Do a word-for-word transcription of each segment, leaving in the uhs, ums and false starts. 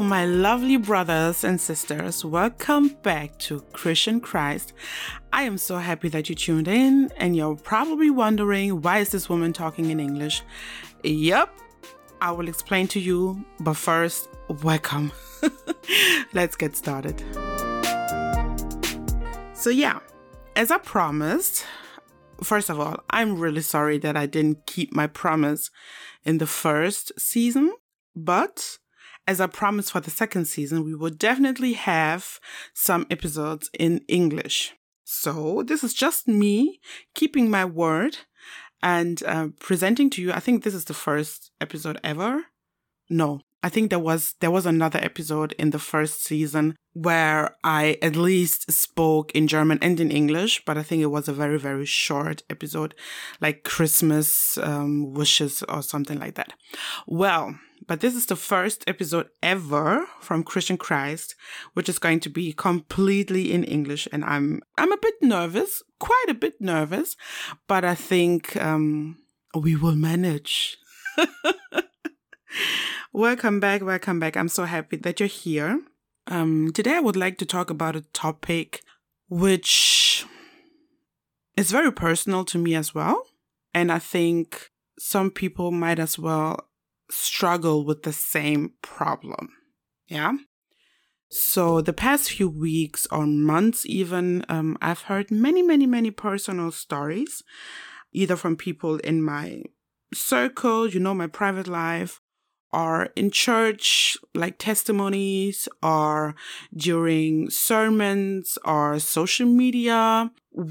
my lovely brothers and sisters. Welcome back to Christian Christ. I am so happy that you tuned in, and you're probably wondering, why is this woman talking in English? Yep, I will explain to you, but first, welcome. Let's get started. So yeah, as I promised, first of all, I'm really sorry that I didn't keep my promise in the first season, but as I promised for the second season, we will definitely have some episodes in English. So this is just me keeping my word and uh, presenting to you. I think this is the first episode ever. No, I think there was there was another episode in the first season where I at least spoke in German and in English, but I think it was a very, very short episode, like Christmas um, wishes or something like that. Well, but this is the first episode ever from Christian Christ, which is going to be completely in English. And I'm I'm a bit nervous, quite a bit nervous, but I think um, we will manage. Welcome back, welcome back. I'm so happy that you're here. Um, today I would like to talk about a topic which is very personal to me as well. And I think some people might as well struggle with the same problem. Yeah. So the past few weeks or months even, um, I've heard many, many, many personal stories, either from people in my circle, you know, my private life, or in church, like testimonies, or during sermons or social media,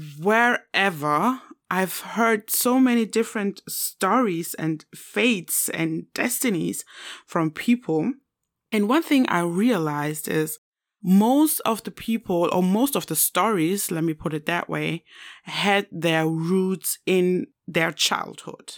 wherever. I've heard so many different stories and fates and destinies from people. And one thing I realized is most of the people, or most of the stories, let me put it that way, had their roots in their childhood.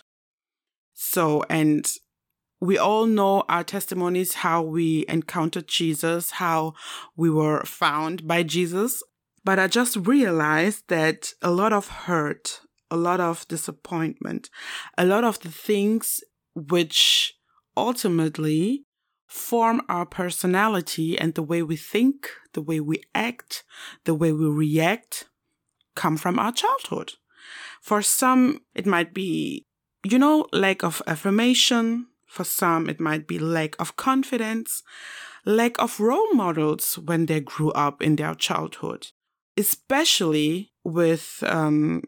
So, and we all know our testimonies, how we encountered Jesus, how we were found by Jesus. But I just realized that a lot of hurt, a lot of disappointment, a lot of the things which ultimately form our personality and the way we think, the way we act, the way we react, come from our childhood. For some, it might be, you know, lack of affirmation. For some, it might be lack of confidence, lack of role models when they grew up in their childhood, especially with um,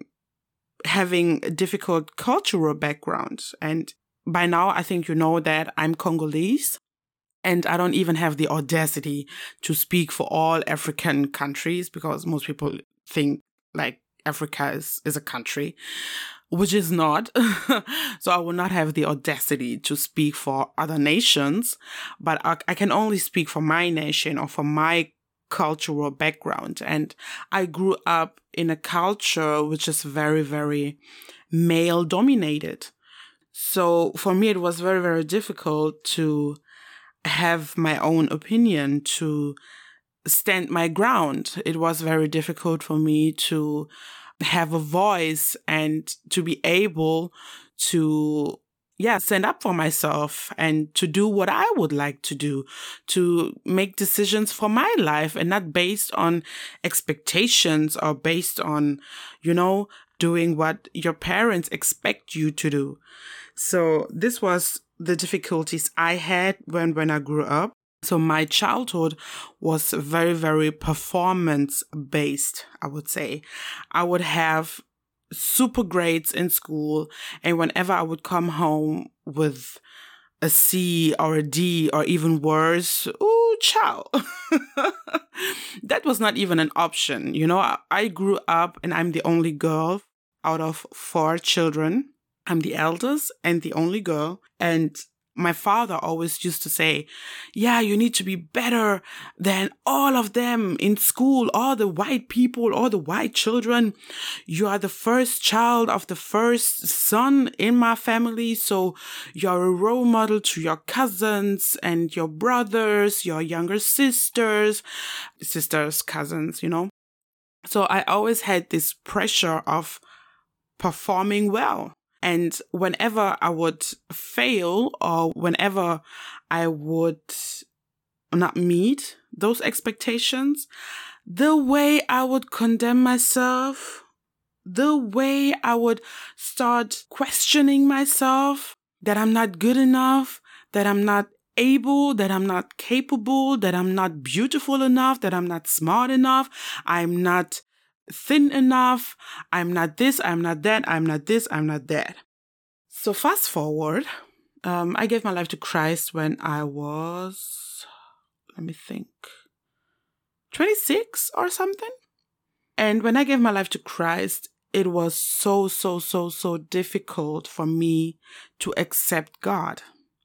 having a difficult cultural background. And by now, I think you know that I'm Congolese, and I don't even have the audacity to speak for all African countries, because most people think like Africa is, is a country, which is not. So I will not have the audacity to speak for other nations, but I, I can only speak for my nation or for my cultural background. And I grew up in a culture which is very, very male dominated. So for me, it was very, very difficult to have my own opinion, to stand my ground. It was very difficult for me to have a voice and to be able to, yeah, stand up for myself and to do what I would like to do, to make decisions for my life and not based on expectations or based on, you know, doing what your parents expect you to do. So this was the difficulties I had when, when I grew up. So my childhood was very, very performance-based, I would say. I would have super grades in school, and whenever I would come home with a C or a D or even worse, ooh, ciao. That was not even an option. You know, I, I grew up and I'm the only girl out of four children. I'm the eldest and the only girl, and my father always used to say, yeah, you need to be better than all of them in school, all the white people, all the white children. You are the first child of the first son in my family. So you're a role model to your cousins and your brothers, your younger sisters, sisters, cousins, you know. So I always had this pressure of performing well. And whenever I would fail or whenever I would not meet those expectations, the way I would condemn myself, the way I would start questioning myself, that I'm not good enough, that I'm not able, that I'm not capable, that I'm not beautiful enough, that I'm not smart enough, I'm not thin enough, I'm not this, I'm not that, I'm not this, I'm not that. So fast forward, um, I gave my life to Christ when I was, let me think, twenty-six or something. And when I gave my life to Christ, it was so, so, so, so difficult for me to accept God.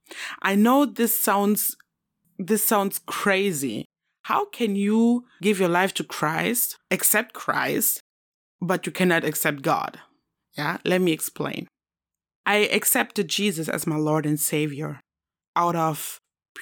I know this sounds, this sounds crazy. How can you give your life to Christ, accept Christ, but you cannot accept God? Yeah, let me explain. I accepted Jesus as my Lord and Savior out of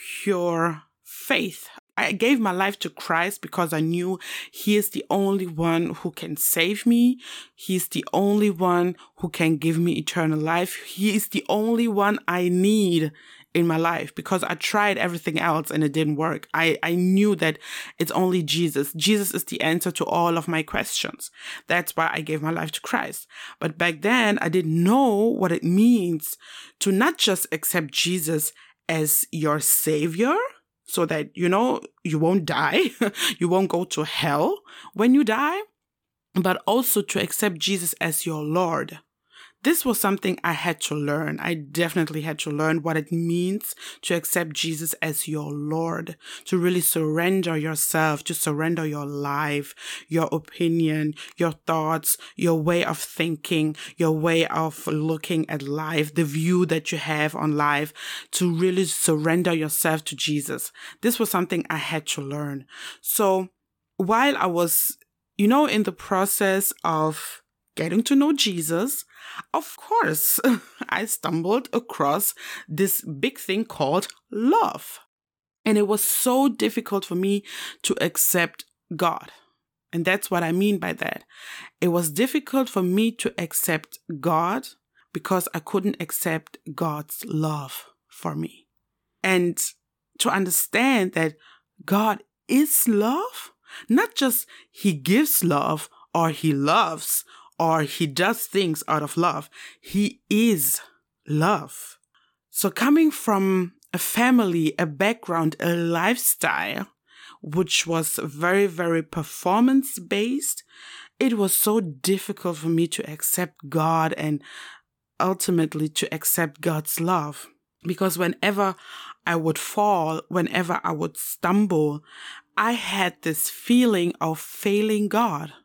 pure faith. I gave my life to Christ because I knew He is the only one who can save me. He's the only one who can give me eternal life. He is the only one I need in my life, because I tried everything else and it didn't work. I, I knew that it's only Jesus. Jesus is the answer to all of my questions. That's why I gave my life to Christ. But back then, I didn't know what it means to not just accept Jesus as your Savior, so that, you know, you won't die, you won't go to hell when you die, but also to accept Jesus as your Lord. This was something I had to learn. I definitely had to learn what it means to accept Jesus as your Lord, to really surrender yourself, to surrender your life, your opinion, your thoughts, your way of thinking, your way of looking at life, the view that you have on life, to really surrender yourself to Jesus. This was something I had to learn. So while I was, you know, in the process of getting to know Jesus, of course, I stumbled across this big thing called love. And it was so difficult for me to accept God. And that's what I mean by that. It was difficult for me to accept God because I couldn't accept God's love for me. And to understand that God is love, not just He gives love or He loves or He does things out of love. He is love. So coming from a family, a background, a lifestyle, which was very, very performance-based, it was so difficult for me to accept God and ultimately to accept God's love. Because whenever I would fall, whenever I would stumble, I had this feeling of failing God.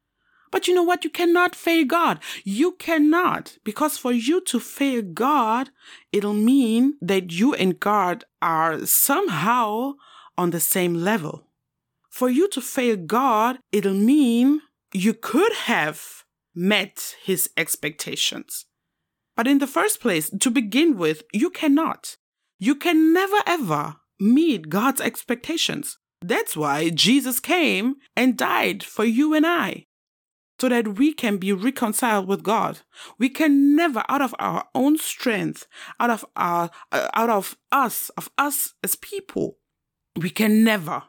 But you know what? You cannot fail God. You cannot. Because for you to fail God, it'll mean that you and God are somehow on the same level. For you to fail God, it'll mean you could have met His expectations. But in the first place, to begin with, you cannot. You can never ever meet God's expectations. That's why Jesus came and died for you and I, so that we can be reconciled with God. We can never, out of our own strength, out of our, uh, out of us, of us as people, we can never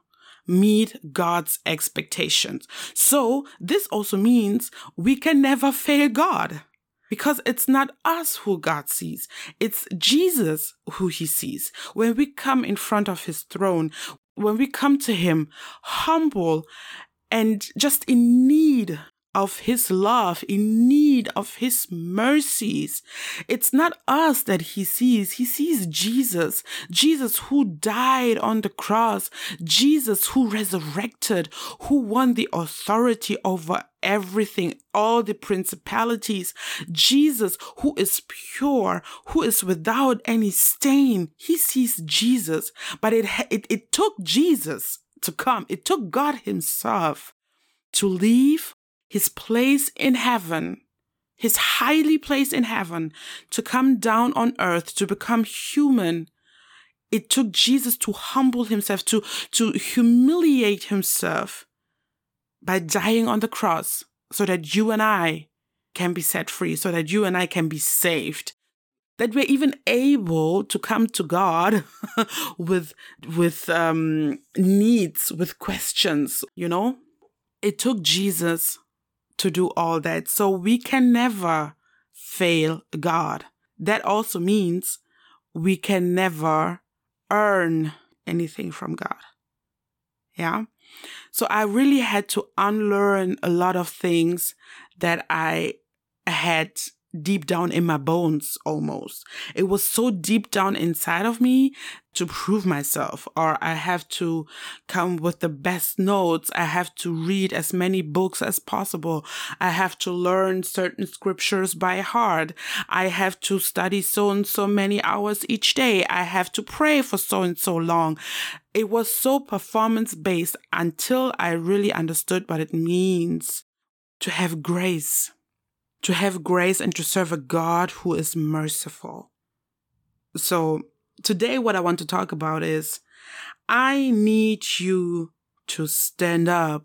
meet God's expectations. So this also means we can never fail God, because it's not us who God sees. It's Jesus who He sees. When we come in front of His throne, when we come to Him humble and just in need of His love, in need of His mercies, it's not us that He sees. He sees Jesus. Jesus who died on the cross. Jesus who resurrected, who won the authority over everything, all the principalities. Jesus who is pure, who is without any stain. He sees Jesus. But it, it, it took Jesus to come. It took God Himself to leave His place in heaven, His highly place in heaven, to come down on earth, to become human. It took Jesus to humble Himself, to, to humiliate Himself by dying on the cross, so that you and I can be set free, so that you and I can be saved. that we're even able to come to God with, with um, needs, with questions, you know? It took Jesus to do all that. So we can never fail God. That also means we can never earn anything from God. Yeah. So I really had to unlearn a lot of things that I had deep down in my bones almost. It was so deep down inside of me to prove myself, or I have to come with the best notes. I have to read as many books as possible. I have to learn certain scriptures by heart. I have to study so and so many hours each day. I have to pray for so and so long. It was so performance based until I really understood what it means to have grace. To have grace and to serve a God who is merciful. So today what I want to talk about is I need you to stand up.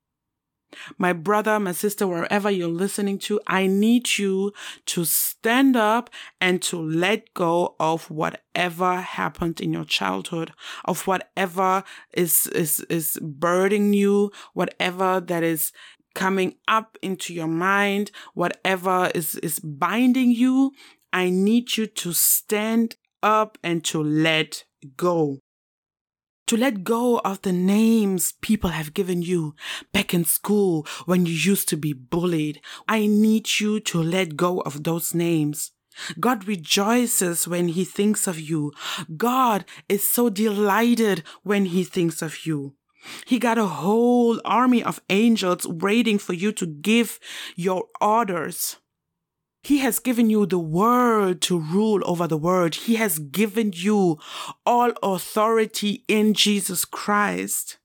My brother, my sister, wherever you're listening to, I need you to stand up and to let go of whatever happened in your childhood, of whatever is, is, is burdening you, whatever that is coming up into your mind, whatever is, is binding you. I need you to stand up and to let go. To let go of the names people have given you back in school when you used to be bullied. I need you to let go of those names. God rejoices when he thinks of you. God is so delighted when he thinks of you. He got a whole army of angels waiting for you to give your orders. He has given you the word to rule over the world. He has given you all authority in Jesus Christ.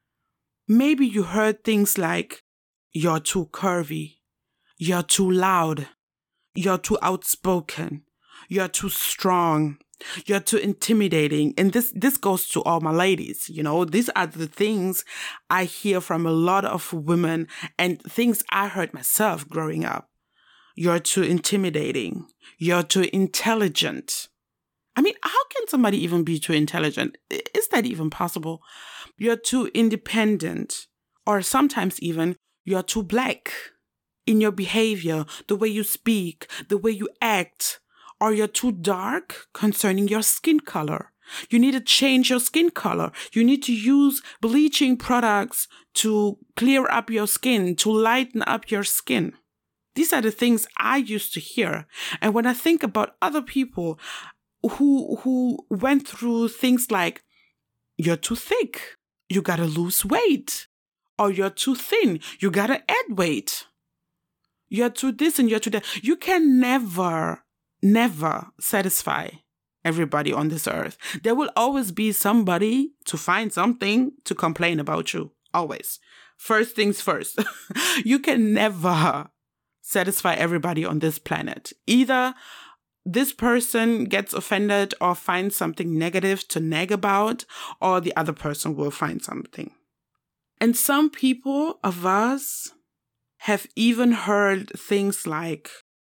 Maybe you heard things like, you're too curvy, you're too loud, you're too outspoken, you're too strong, you're too intimidating. And this, this goes to all my ladies. You know, these are the things I hear from a lot of women and things I heard myself growing up. You're too intimidating. You're too intelligent. I mean, how can somebody even be too intelligent? Is that even possible? You're too independent. Or sometimes even, you're too black in your behavior, the way you speak, the way you act. Or you're too dark concerning your skin color. You need to change your skin color. You need to use bleaching products to clear up your skin, to lighten up your skin. These are the things I used to hear. And when I think about other people who who went through things like, you're too thick, you gotta lose weight. Or you're too thin, you gotta add weight. You're too this and you're too that. You can never, never satisfy everybody on this earth. There will always be somebody to find something to complain about you. Always. First things first. You can never satisfy everybody on this planet. Either this person gets offended or finds something negative to nag about, or the other person will find something. And some people of us have even heard things like,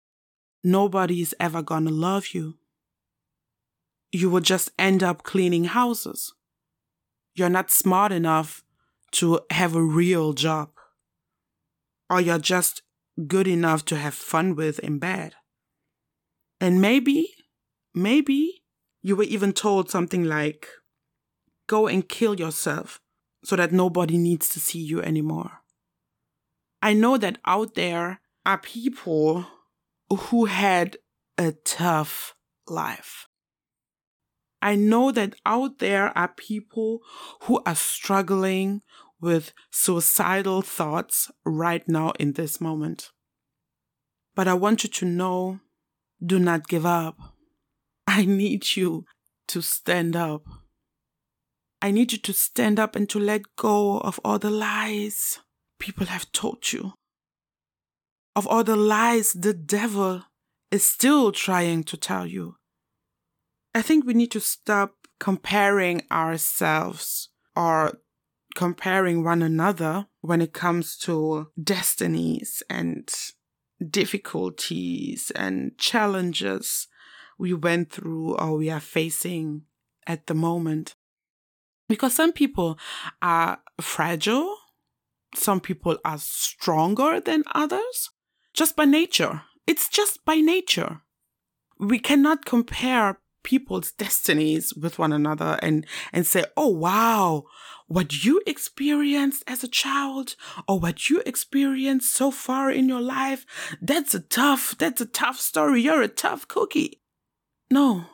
nobody's ever gonna love you. You will just end up cleaning houses. You're not smart enough to have a real job. Or you're just good enough to have fun with in bed. And maybe, maybe you were even told something like, go and kill yourself so that nobody needs to see you anymore. I know that out there are people who had a tough life. I know that out there are people who are struggling with suicidal thoughts right now in this moment. But I want you to know, do not give up. I need you to stand up. I need you to stand up and to let go of all the lies people have told you. Of all the lies the devil is still trying to tell you. I think we need to stop comparing ourselves or comparing one another when it comes to destinies and difficulties and challenges. we went through or we are facing at the moment. Because some people are fragile, some people are stronger than others, just by nature. It's just by nature. We cannot compare people's destinies with one another and, and say, oh, wow, what you experienced as a child or what you experienced so far in your life, that's a tough, that's a tough story. You're a tough cookie. No.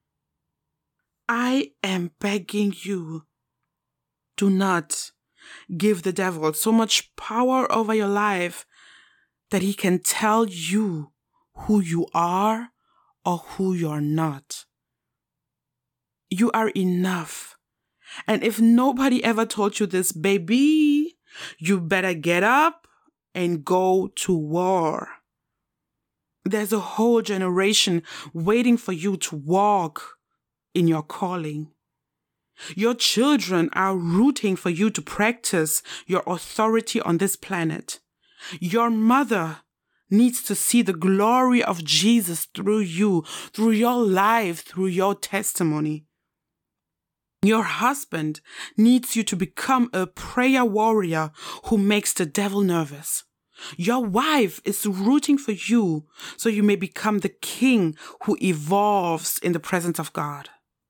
I am begging you, do not give the devil so much power over your life that he can tell you who you are or who you're not. You are enough. And if nobody ever told you this, baby, you better get up and go to war. There's a whole generation waiting for you to walk in your calling. Your children are rooting for you to practice your authority on this planet. Your mother needs to see the glory of Jesus through you, through your life, through your testimony. Your husband needs you to become a prayer warrior who makes the devil nervous. Your wife is rooting for you so you may become the king who evolves in the presence of God.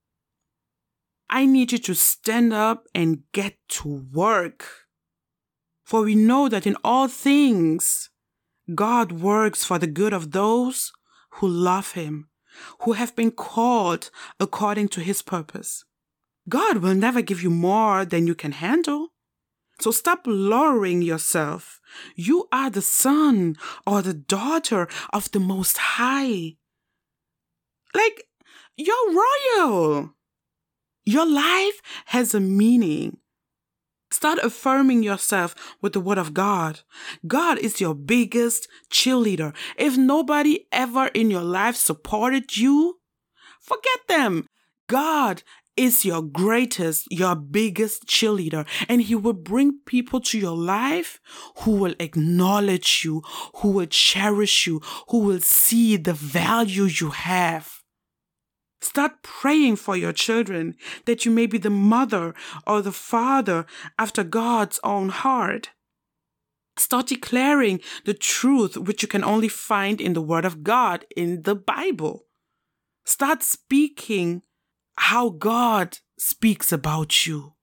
I need you to stand up and get to work. For we know that in all things, God works for the good of those who love him, who have been called according to his purpose. God will never give you more than you can handle. So stop lowering yourself. You are the son or the daughter of the Most High. Like, you're royal. Your life has a meaning. Start affirming yourself with the word of God. God is your biggest cheerleader. If nobody ever in your life supported you, forget them. God is your greatest, your biggest cheerleader. And he will bring people to your life who will acknowledge you, who will cherish you, who will see the value you have. Start praying for your children that you may be the mother or the father after God's own heart. Start declaring the truth which you can only find in the Word of God, in the Bible. Start speaking how God speaks about you.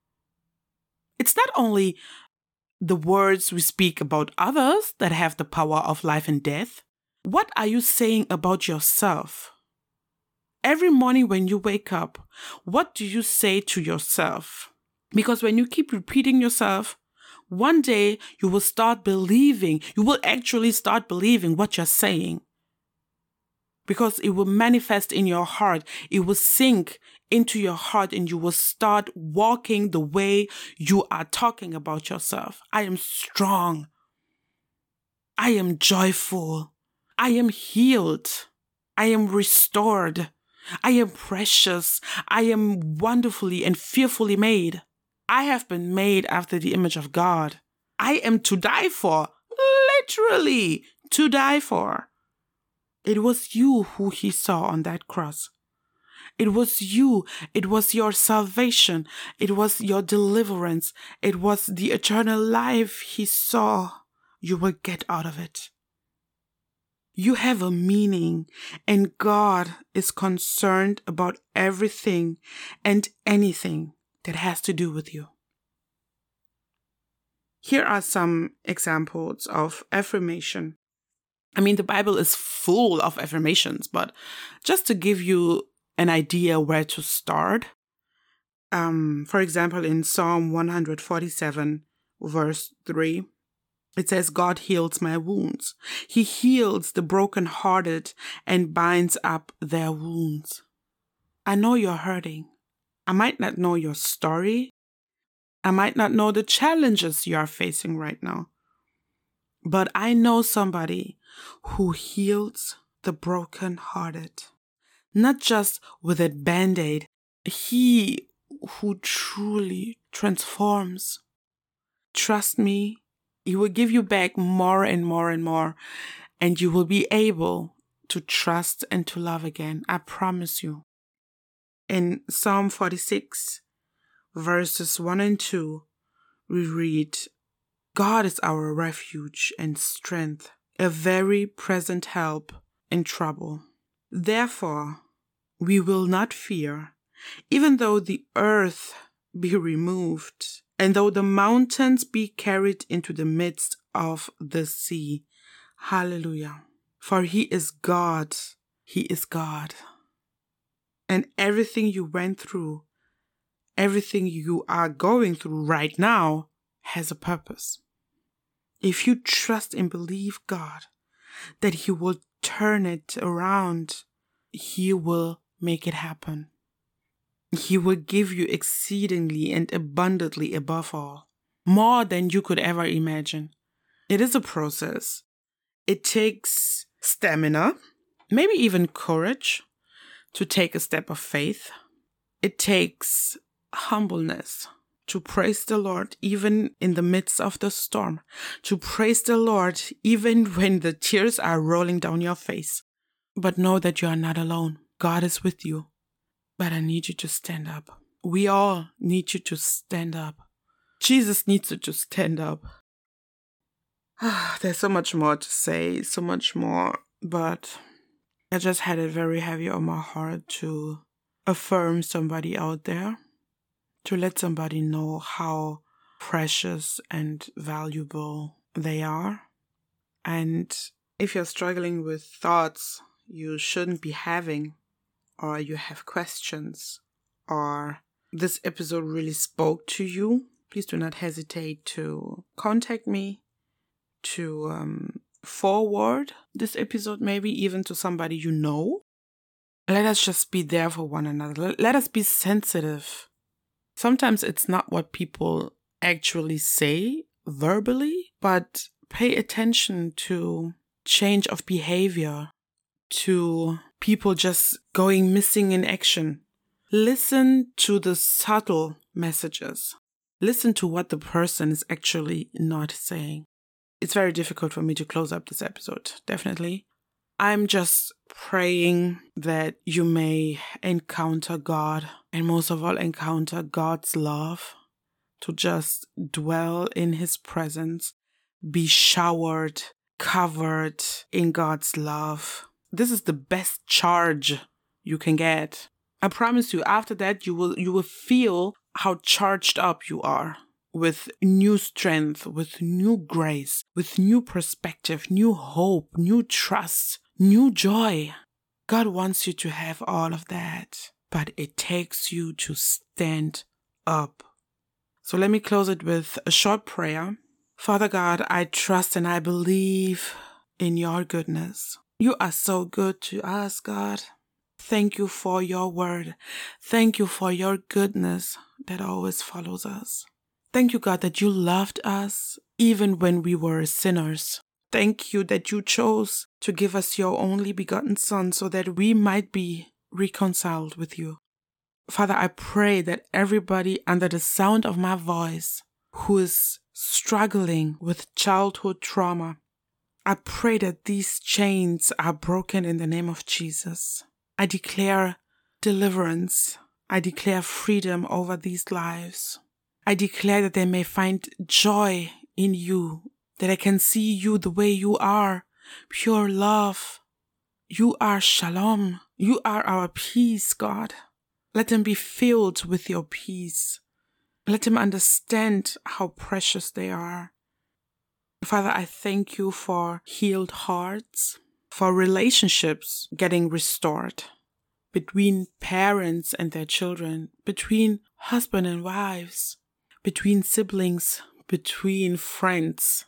It's not only the words we speak about others that have the power of life and death. What are you saying about yourself? Every morning when you wake up, what do you say to yourself? Because when you keep repeating yourself, one day you will start believing, you will actually start believing what you're saying. Because it will manifest in your heart, it will sink into your heart, and you will start walking the way you are talking about yourself. I am strong. I am joyful. I am healed. I am restored. I am precious. I am wonderfully and fearfully made. I have been made after the image of God. I am to die for. Literally to die for. It was you who he saw on that cross. It was you. It was your salvation. It was your deliverance. It was the eternal life he saw you will get out of it. You have a meaning, and God is concerned about everything and anything that has to do with you. Here are some examples of affirmation. I mean, the Bible is full of affirmations, but just to give you an idea where to start, um, for example, in Psalm one forty-seven, verse three, it says, God heals my wounds. He heals the brokenhearted and binds up their wounds. I know you're hurting. I might not know your story. I might not know the challenges you are facing right now. But I know somebody who heals the brokenhearted. Not just with a band-aid. He who truly transforms. Trust me, he will give you back more and more and more, and you will be able to trust and to love again. I promise you. In Psalm forty-six, verses one and two, we read, God is our refuge and strength, a very present help in trouble. Therefore, we will not fear, even though the earth be removed, and though the mountains be carried into the midst of the sea. Hallelujah. For he is God. He is God. And everything you went through, everything you are going through right now has a purpose. If you trust and believe God that he will turn it around, he will make it happen. He will give you exceedingly and abundantly above all, more than you could ever imagine. It is a process. It takes stamina, maybe even courage to take a step of faith. It takes humbleness to praise the Lord even in the midst of the storm, to praise the Lord even when the tears are rolling down your face. But know that you are not alone. God is with you. But I need you to stand up. We all need you to stand up. Jesus needs you to stand up. There's so much more to say, so much more, but I just had it very heavy on my heart to affirm somebody out there, to let somebody know how precious and valuable they are. And if you're struggling with thoughts you shouldn't be having, or you have questions, or this episode really spoke to you, please do not hesitate to contact me, to um, forward this episode maybe even to somebody you know. Let us just be there for one another. Let us be sensitive. Sometimes it's not what people actually say verbally, but pay attention to change of behavior, to people just going missing in action. Listen to the subtle messages. Listen to what the person is actually not saying. It's very difficult for me to close up this episode, definitely. I'm just praying that you may encounter God, and most of all encounter God's love, to just dwell in his presence, be showered, covered in God's love. This is the best charge you can get. I promise you, after that, you will you will feel how charged up you are with new strength, with new grace, with new perspective, new hope, new trust, new joy. God wants you to have all of that, but it takes you to stand up. So let me close it with a short prayer. Father God, I trust and I believe in your goodness. You are so good to us, God. Thank you for your word. Thank you for your goodness that always follows us. Thank you, God, that you loved us even when we were sinners. Thank you that you chose to give us your only begotten Son so that we might be reconciled with you. Father, I pray that everybody under the sound of my voice who is struggling with childhood trauma, I pray that these chains are broken in the name of Jesus. I declare deliverance. I declare freedom over these lives. I declare that they may find joy in you, that I can see you the way you are, pure love. You are shalom. You are our peace, God. Let them be filled with your peace. Let them understand how precious they are. Father, I thank you for healed hearts, for relationships getting restored between parents and their children, between husband and wives, between siblings, between friends.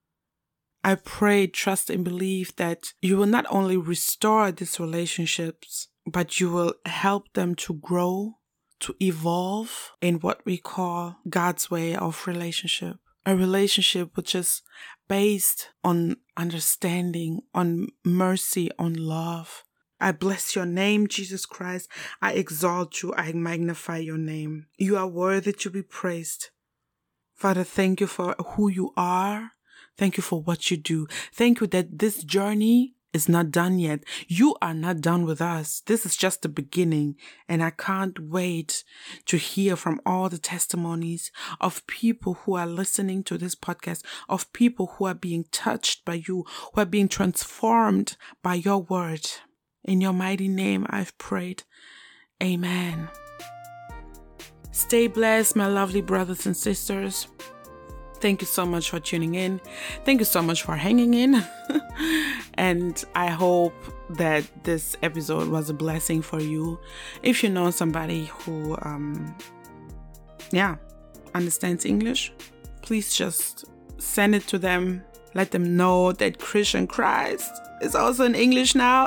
I pray, trust, and believe that you will not only restore these relationships, but you will help them to grow, to evolve in what we call God's way of relationship. A relationship which is based on understanding, on mercy, on love. I bless your name, Jesus Christ. I exalt you. I magnify your name. You are worthy to be praised. Father, thank you for who you are. Thank you for what you do. Thank you that this journey is not done yet. You are not done with us. This is just the beginning. And I can't wait to hear from all the testimonies of people who are listening to this podcast, of people who are being touched by you, who are being transformed by your word. In your mighty name, I've prayed. Amen. Stay blessed, my lovely brothers and sisters. Thank you so much for tuning in. Thank you so much for hanging in. And I hope that this episode was a blessing for you. If you know somebody who, um, yeah, understands English, please just send it to them. Let them know that Christian Christ is also in English now.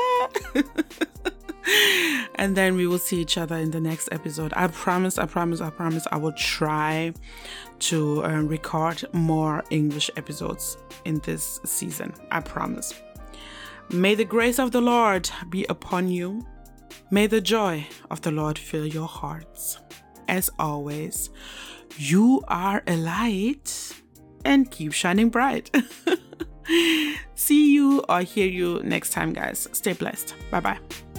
And then we will see each other in the next episode. I promise, I promise, I promise I will try to uh, record more English episodes in this season. I promise. May the grace of the Lord be upon you. May the joy of the Lord fill your hearts. As always, you are a light and keep shining bright. See you or hear you next time, guys. Stay blessed. Bye-bye.